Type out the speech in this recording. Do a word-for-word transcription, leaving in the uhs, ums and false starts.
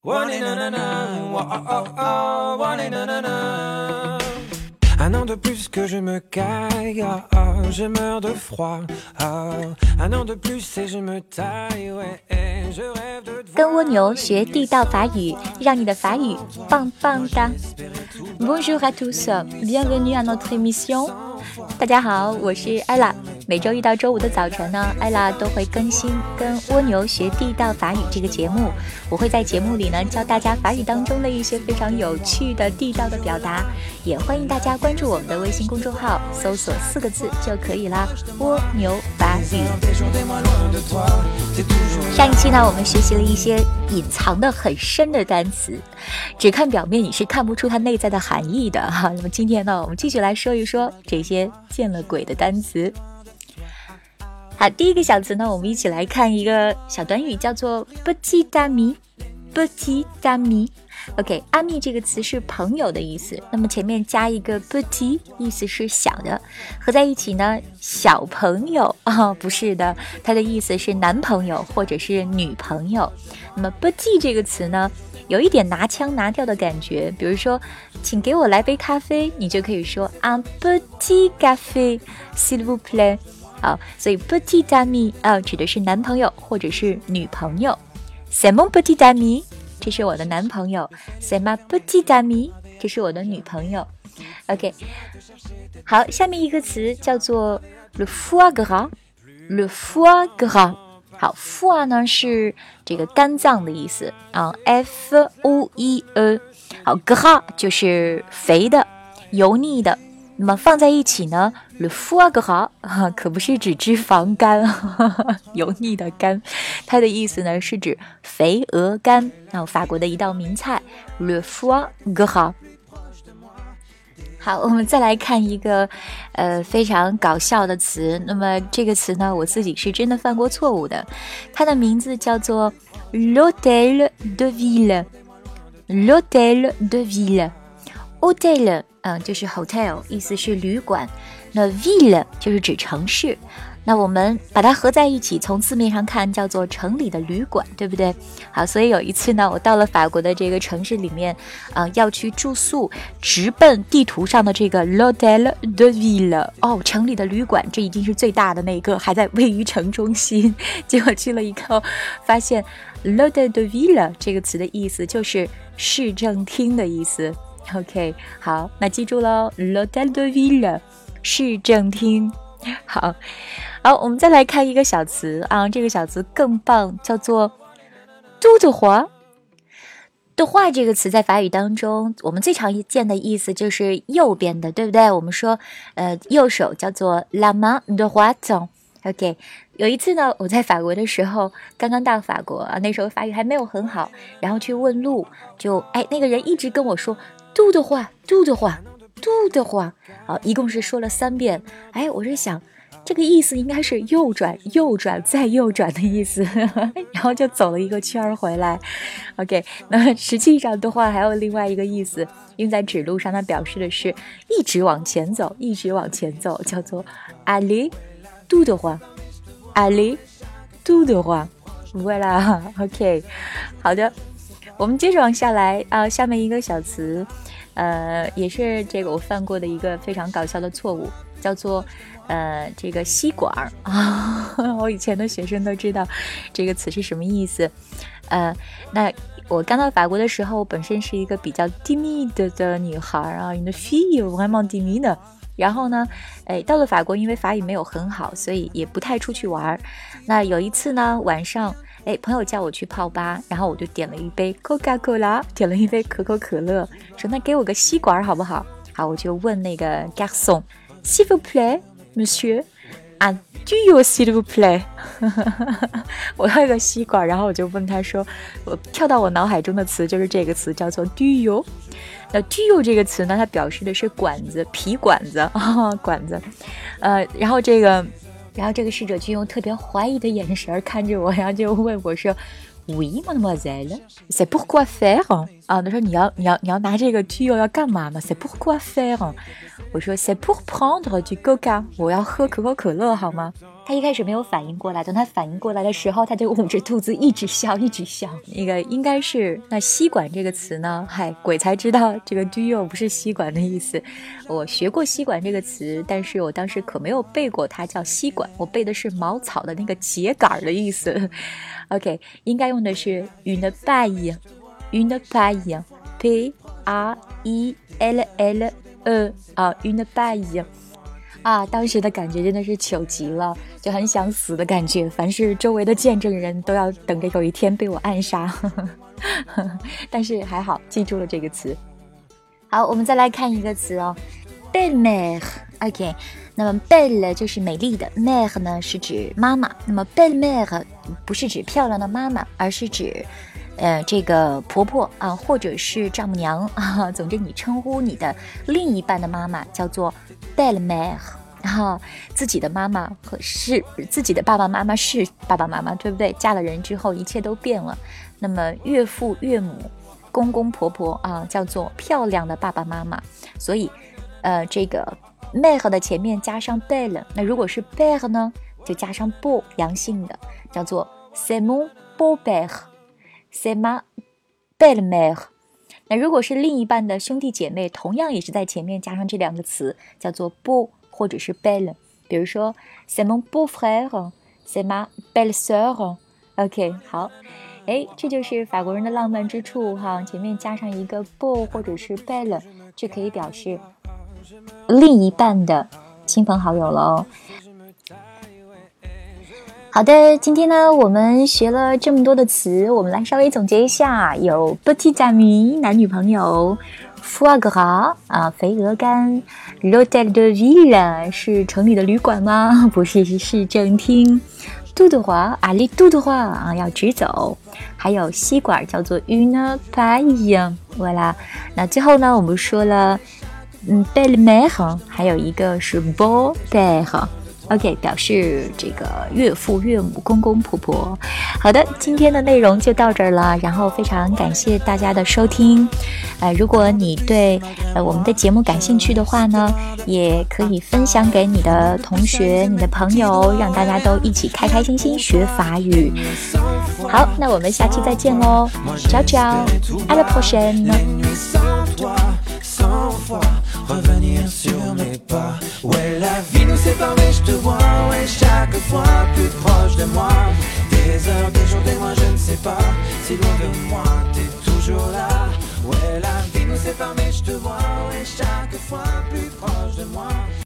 Un an de plus que je me caille, ah, ah, je meurs de froid. Ah, un an de plus et je me taille, ouais, et je rêve de te voir. 跟蜗牛学地道法语，让你的法语棒棒哒。Bonjour à tous, bienvenue à notre émission. 大家好，我是艾拉。每周一到周五的早晨呢，艾拉都会更新跟蜗牛学地道法语这个节目。我会在节目里呢教大家法语当中的一些非常有趣的地道的表达，也欢迎大家关注我们的微信公众号，搜索四个字就可以啦，蜗牛法语。上一期呢，我们学习了一些隐藏的很深的单词，只看表面你是看不出它内在的含义的哈。那么今天呢，我们继续来说一说这些见了鬼的单词。好，第一个小词呢，我们一起来看一个小短语，叫做 petit ami petit ami。 OK， 阿密这个词是朋友的意思，那么前面加一个 petit， 意思是小的，合在一起呢，小朋友啊、哦，不是的，它的意思是男朋友或者是女朋友。那么 petit 这个词呢，有一点拿腔拿调的感觉，比如说请给我来杯咖啡，你就可以说 un petit café s'il vous plaît。好，所以 petit ami 啊，指的是男朋友或者是女朋友。C'est mon petit ami， 这是我的男朋友。C'est ma petite amie， 这是我的女朋友。OK， 好，下面一个词叫做 le foie gras，le foie gras。好 ，foie 呢是这个肝脏的意思啊 ，F O E E。好 ，gras 就是肥的、油腻的。那么放在一起呢 le foie gras、啊、可不是指脂肪肝呵呵油腻的肝，它的意思呢是指肥鹅肝，那、啊、法国的一道名菜 le foie gras。 好，我们再来看一个呃非常搞笑的词，那么这个词呢我自己是真的犯过错误的，它的名字叫做 l'hôtel de ville l'hôtel de ville hôtel嗯，就是 hotel， 意思是旅馆。那 ville 就是指城市，那我们把它合在一起，从字面上看叫做城里的旅馆，对不对？好，所以有一次呢，我到了法国的这个城市里面，呃，要去住宿，直奔地图上的这个 l'hôtel de ville， 哦，城里的旅馆，这已经是最大的那个，还在位于城中心。结果去了以后，发现 l'hôtel de ville 这个词的意思就是市政厅的意思。OK， 好，那记住咯 l'hôtel de ville 市政厅。好好，我们再来看一个小词啊，这个小词更棒，叫做 tout droit。 droit 这个词在法语当中我们最常见的意思就是右边的，对不对？我们说呃右手叫做 la main droite。 OK， 有一次呢，我在法国的时候刚刚到法国啊，那时候法语还没有很好，然后去问路，就哎那个人一直跟我说嘟的话嘟的话嘟的话，好，一共是说了三遍。哎，我是想这个意思应该是右转右转再右转的意思然后就走了一个圈回来。 OK， 那实际上的话还有另外一个意思，用在指路上，它表示的是一直往前走一直往前走，叫做 aller tout droit aller tout droit。 voilà OK， 好的，我们接着往下来啊，下面一个小词呃，也是这个我犯过的一个非常搞笑的错误，叫做呃这个吸管啊。我以前的学生都知道这个词是什么意思。呃，那我刚到法国的时候，本身是一个比较 timide 的女孩啊 une fille vraiment timide。然后呢，哎，到了法国，因为法语没有很好，所以也不太出去玩。那有一次呢，晚上，哎，朋友叫我去泡吧，然后我就点了一杯 Coca-Cola， 点了一杯可口可乐，说那给我个吸管好不好？好，我就问那个 garçon， s'il vous plaît, monsieur, un tuyau s'il vous plaît 我要一个吸管，然后我就问他说，我跳到我脑海中的词就是这个词，叫做 tuyau。那 tuyau 这个词呢，它表示的是管子，皮管子啊、哦，管子。呃，然后这个，然后这个侍者就用特别怀疑的眼神看着我，然后就问我说 ，Oui, mademoiselle, c'est pourquoi faire？ 啊，他说你要你要你要拿这个 tuyau 要干嘛呢 C'est pourquoi faire？ 我说 C'est pour prendre du coca， 我要喝可口可乐好吗？他一开始没有反应过来，等他反应过来的时候，他就捂着肚子一直笑一直笑。那个应该是那吸管这个词呢，嗨，鬼才知道这个 tuyau 不是吸管的意思。我学过吸管这个词，但是我当时可没有背过它叫吸管，我背的是茅草的那个秸秆的意思。OK， 应该用的是 une paille。Une paille, P A I L L E 啊 ，une paille 啊，当时的感觉真的是糗极了，就很想死的感觉。凡是周围的见证人都要等着有一天被我暗杀，但是还好记住了这个词。好，我们再来看一个词哦 ，belle-mère。OK， 那么 belle 就是美丽的 ，mère 呢是指妈妈。那么 belle-mère 不是指漂亮的妈妈，而是指呃，这个婆婆啊，或者是丈母娘啊，总之你称呼你的另一半的妈妈叫做 belle-mère， 然后自己的妈妈和是自己的爸爸妈妈是爸爸妈妈，对不对？嫁了人之后一切都变了。那么岳父岳母、公公婆婆啊，叫做漂亮的爸爸妈妈。所以，呃，这个 mère 的前面加上 belle， 那如果是 père 呢，就加上 beau 阳性的，叫做 c'est mon beau-père。C'est ma belle-mère。 那如果是另一半的兄弟姐妹，同样也是在前面加上这两个词，叫做 beau 或者是 belle。 比如说 C'est mon beau-frère， C'est ma belle-sœur。 OK， 好，诶，这就是法国人的浪漫之处哈，前面加上一个 beau 或者是 belle， 就可以表示另一半的亲朋好友了哦。好的，今天呢我们学了这么多的词，我们来稍微总结一下。有 petit ami 男女朋友， foie gras 啊肥鹅肝， l'hôtel de ville 是城里的旅馆吗？不是，是市政厅。tout droit aller tout droit 啊要直走。还有吸管叫做 une paille。 voilà， 那最后呢我们说了嗯 belle-mère， 还有一个是 beau-père。OK， 表示这个岳父岳母公公婆婆。好的，今天的内容就到这儿了，然后非常感谢大家的收听。呃，如果你对呃我们的节目感兴趣的话呢，也可以分享给你的同学、你的朋友，让大家都一起开开心心学法语。好，那我们下期再见喽 ，ciao ciao， à la prochaine。Revenir sur mes pas. Ouais, la vie nous sépare, mais je te vois. Ouais, chaque fois plus proche de moi. Des heures, des jours, des mois, je ne sais pas. Si loin de moi, t'es toujours là. Ouais, la vie nous sépare, mais je te vois. Ouais, chaque fois plus proche de moi.